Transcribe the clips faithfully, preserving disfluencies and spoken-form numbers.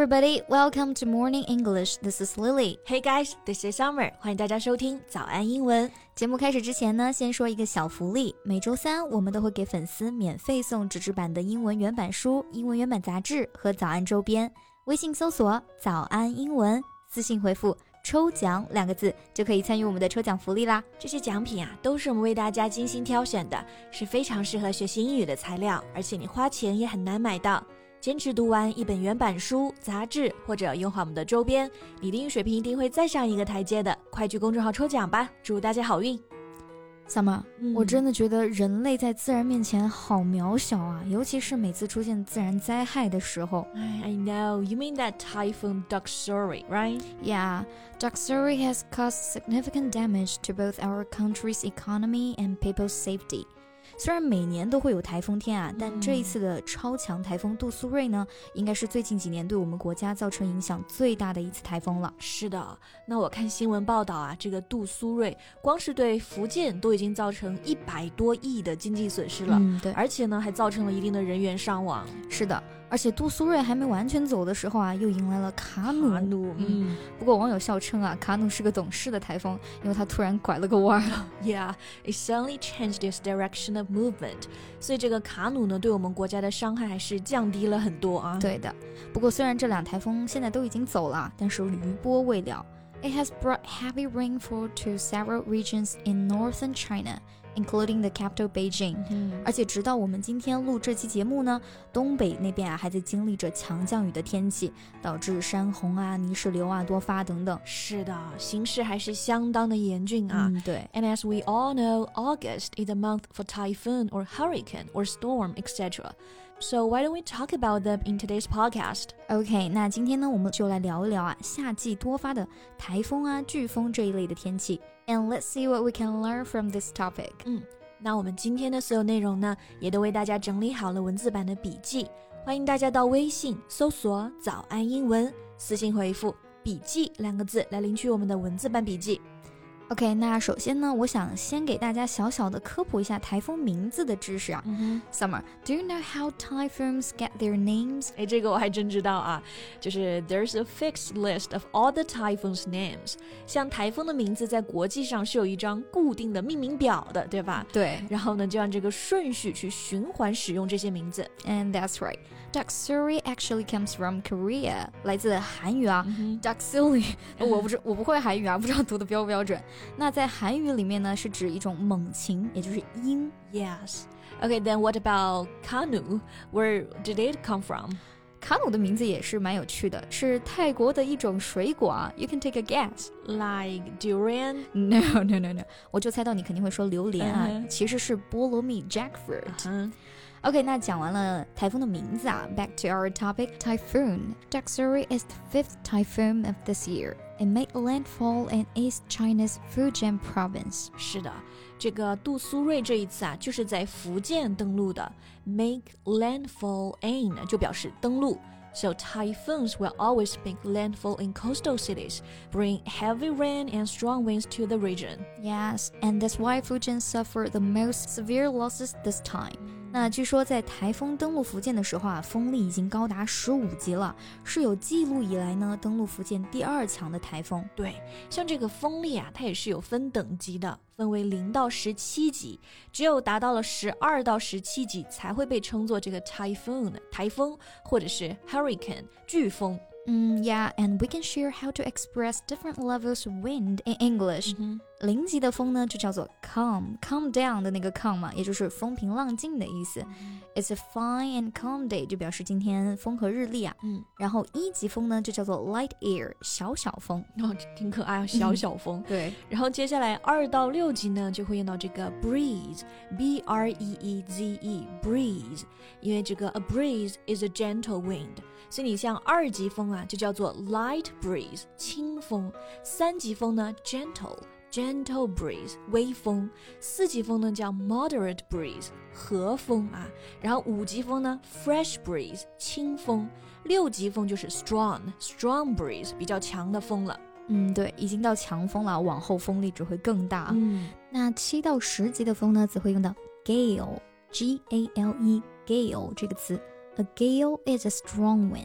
everybody, welcome to Morning English. This is Lily. Hey guys, this is Summer. 欢迎大家收听早安英文。 节目开始之前呢，先说一个小福利。每周三我们都会给粉丝免费送纸质版的英文原版书、英文原版杂志和早安周边。微信搜索早安英文，私信回复抽奖两个字就可以参与我们的抽奖福利啦。 这些奖品啊，都是我们为大家精心挑选的，是非常适合学习英语的材料，而且你花钱也很难买到。坚持读完一本原版书、杂志，或者用好我们的周边，你的英语水平一定会再上一个台阶的。快去公众号抽奖吧，祝大家好运。 Summer、嗯、我真的觉得人类在自然面前好渺小啊，尤其是每次出现自然灾害的时候。 I know, you mean that typhoon Doksuri, right? Yeah, Doksuri has caused significant damage to both our country's economy and people's safety.虽然每年都会有台风天啊，但这一次的超强台风杜苏芮呢，应该是最近几年对我们国家造成影响最大的一次台风了。 是的，那我看新闻报道啊，这个杜苏芮光是对福建都已经造成一百多亿的经济损失了， 嗯，对， 而且呢还造成了一定的人员伤亡。 是的，而且杜苏芮还没完全走的时候啊，又迎来了卡努。 卡努，嗯， 不过网友笑称啊，卡努是个懂事的台风，因为它突然拐了个弯。 Yeah, it suddenly changed its direction of movement. 所以这个卡努呢，对我们国家的伤害还是降低了很多啊。 对的，不过虽然这两台风现在都已经走了，但是余波未了。It has brought heavy rainfall to several regions in northern China.including the capital Beijing、嗯、而且直到我们今天录这期节目呢，东北那边啊还在经历着强降雨的天气，导致山洪啊、泥石流啊多发等等。 是的，形势还是相当的严峻啊、 嗯、对。 And as we all know, August is a month for typhoon or hurricane or storm, et cetera. So why don't we talk about them in today's podcast? OK, 那今天呢我们就来聊一聊啊夏季多发的台风啊、飓风这一类的天气。And let's see what we can learn from this topic. 嗯，那我们今天的所有内容呢，也都为大家整理好了文字版的笔记，欢迎大家到微信搜索早安英文，私信回复笔记两个字来领取我们的文字版笔记。 OK, 那首先呢，我想先给大家小小的科普一下台风名字的知识啊。 嗯、 Summer, do you know how typhoons get their names? 哎，这个我还真知道啊，就是 there's a fixed list of all the typhoons' names. 像台风的名字在国际上是有一张固定的命名表的，对吧？ 对。 然后呢，就按这个顺序去循环使用这些名字。 And that's right. Doksuri actually comes from Korea. 来自韩语啊。 嗯、 Doksuri 我不知我不会韩语啊，不知道读的标不标准。那在韩语里面呢，是指一种猛禽，也就是鹰。 Yes. Okay, then what about Kanu? Where did it come from? 卡努的名字也是蛮有趣的，是泰国的一种水果啊。You can take a guess. Like durian? No, no, no, no. 我就猜到你肯定会说榴莲啊， uh-huh. 其实是菠萝蜜 jackfruit. Uh-huh. OK, 那讲完了台风的名字啊 Back to our topic, typhoon. Doksuri is the fifth typhoon of this year. It made landfall in East China's Fujian province. 是的，这个杜苏芮这一次啊，就是在福建登陆的。Make landfall in 就表示登陆。So typhoons will always make landfall in coastal cities, bring heavy rain and strong winds to the region. Yes, and that's why Fujian suffered the most severe losses this time. 那据说在台风登陆福建的时候啊，风力已经高达十五级了，是有记录以来呢登陆福建第二强的台风。 对，像这个风力啊，它也是有分等级的，分为零到十七级，只有达到了十二到十七级才会被称作这个 typhoon 台风，或者是 hurricane 飓风。 嗯 Yeah, and we can share how to express different levels of wind in English. 零级的风呢就叫做 calm, calm down 的那个 calm 嘛，也就是风平浪静的意思。It's a fine and calm day 就表示今天风和日丽啊。 嗯， 然后一级风呢就叫做 light air, 小小风。 哦，挺可爱啊，小小风。 对。 然后接下来二到六级呢就会用到这个 breeze, B R E E Z E, breeze. 因为这个 a breeze is a gentle wind. 所以你像二级风啊就叫做 light breeze, 轻风。三级风呢 gentle, gentle breeze, 微风。四级风呢叫 moderate breeze, 和风啊。然后五级风呢 fresh breeze, 轻风。六级风就是 strong, strong breeze, 比较强的风了。 嗯，对，已经到强风了，往后风力只会更大。 嗯， 那七到十级的风呢，则会用到 gale, G A L E, gale 这个词。A gale is a strong wind.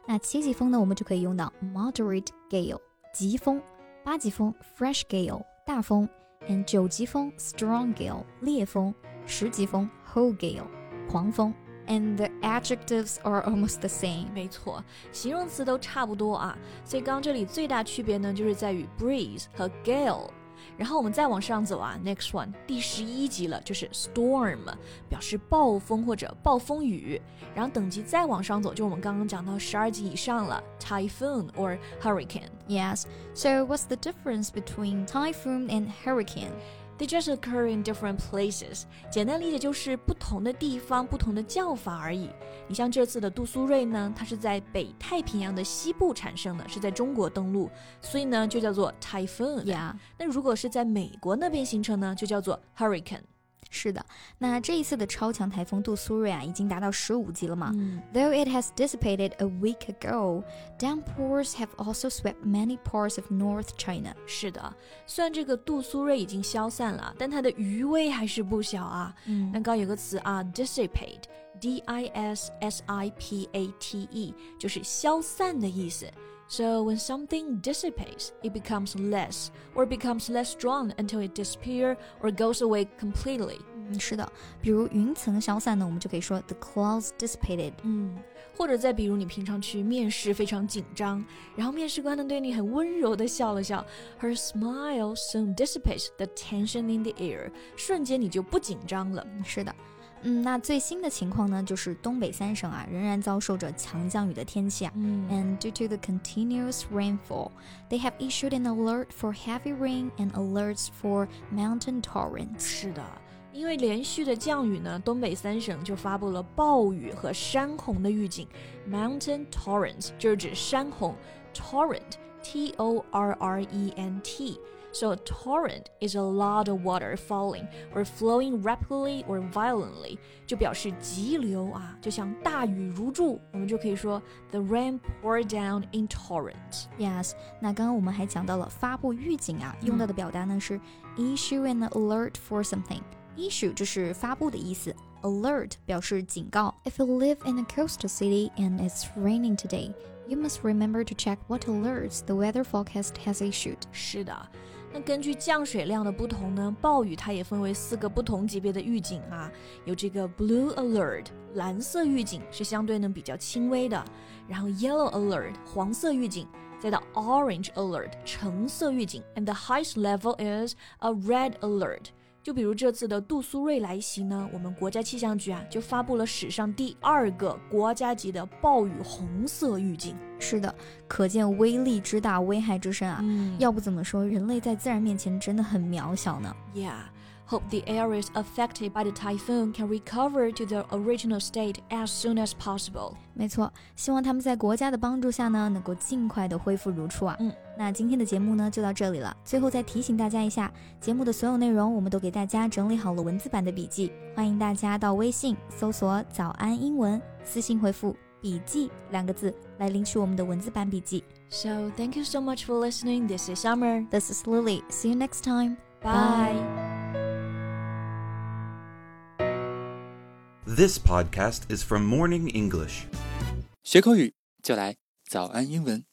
那七级风呢，我们就可以用到 moderate gale 疾风，八级风 fresh gale 大风 and 九级风 strong gale 烈风，十级风 whole gale 狂风。And the adjectives are almost the same. 没错，形容词都差不多啊，所以刚刚这里最大区别呢，就是在于 breeze 和 gale。然后我们再往上走啊 ，next one 第十一级了，就是 storm， 表示暴风或者暴风雨。然后等级再往上走，就我们刚刚讲到十二级以上了 ，typhoon or hurricane. Yes. So what's the difference between typhoon and hurricane?They just occur in different places. 简单理解就是不同的地方不同的叫法而已。你像这次的杜苏芮呢，它是在北太平洋的西部产生的，是在中国登陆，所以呢就叫做 typhoon. Yeah. 那如果是在美国那边形成呢，就叫做 hurricane. 是的，那这一次的超强台风杜苏芮啊，已经达到十五级了嘛、 嗯、 Though it has dissipated a week ago, downpours have also swept many parts of North China. 是的，虽然这个杜苏芮已经消散了，但它的余威还是不小啊。 嗯、 那刚有个词啊 dissipate, D I S S I P A T E 就是消散的意思。So when something dissipates, it becomes less, or becomes less strong until it disappears or goes away completely. 嗯，是的，比如云层消散呢，我们就可以说 the clouds dissipated. 嗯，或者再比如你平常去面试非常紧张，然后面试官呢对你很温柔的笑了笑 ，Her smile soon dissipates the tension in the air. 瞬间你就不紧张了。 是的。嗯，那最新的情况呢，就是东北三省啊，仍然遭受着强降雨的天气啊。 嗯 And due to the continuous rainfall, they have issued an alert for heavy rain and alerts for mountain torrents. 是的，因为连续的降雨呢，东北三省就发布了暴雨和山洪的预警。Mountain torrents 就是指山洪 ，torrent T O R R E N T。So a torrent is a lot of water falling or flowing rapidly or violently, 就表示急流啊，就像大雨如注，我们就可以说 the rain poured down in torrents. Yes, 那刚刚我们还讲到了发布预警啊，用到的表达呢是 issue an alert for something。issue 就是发布的意思。Alert 表示警告。If you live in a coastal city and it's raining today, you must remember to check what alerts the weather forecast has issued. 是的，那根据降水量的不同呢，暴雨它也分为四个不同级别的预警啊，有这个 blue alert 蓝色预警是相对呢比较轻微的，然后 yellow alert 黄色预警，再到 orange alert 橙色预警 and the highest level is a red alert。就比如这次的杜苏芮来袭呢，我们国家气象局啊就发布了史上第二个国家级的暴雨红色预警。 是的，可见威力之大，危害之深啊、 嗯、 要不怎么说人类在自然面前真的很渺小呢。 Yeah.Hope the areas affected by the typhoon can recover to their original state as soon as possible. 没错，希望他们在国家的帮助下呢，能够尽快的恢复如初啊。 嗯， 那今天的节目呢就到这里了。最后再提醒大家一下，节目的所有内容我们都给大家整理好了文字版的笔记，欢迎大家到微信搜索早安英文，私信回复笔记两个字来领取我们的文字版笔记。 So thank you so much for listening. This is Summer. This is Lily. See you next time. Bye. This podcast is from Morning English. 学口语就来早安英文。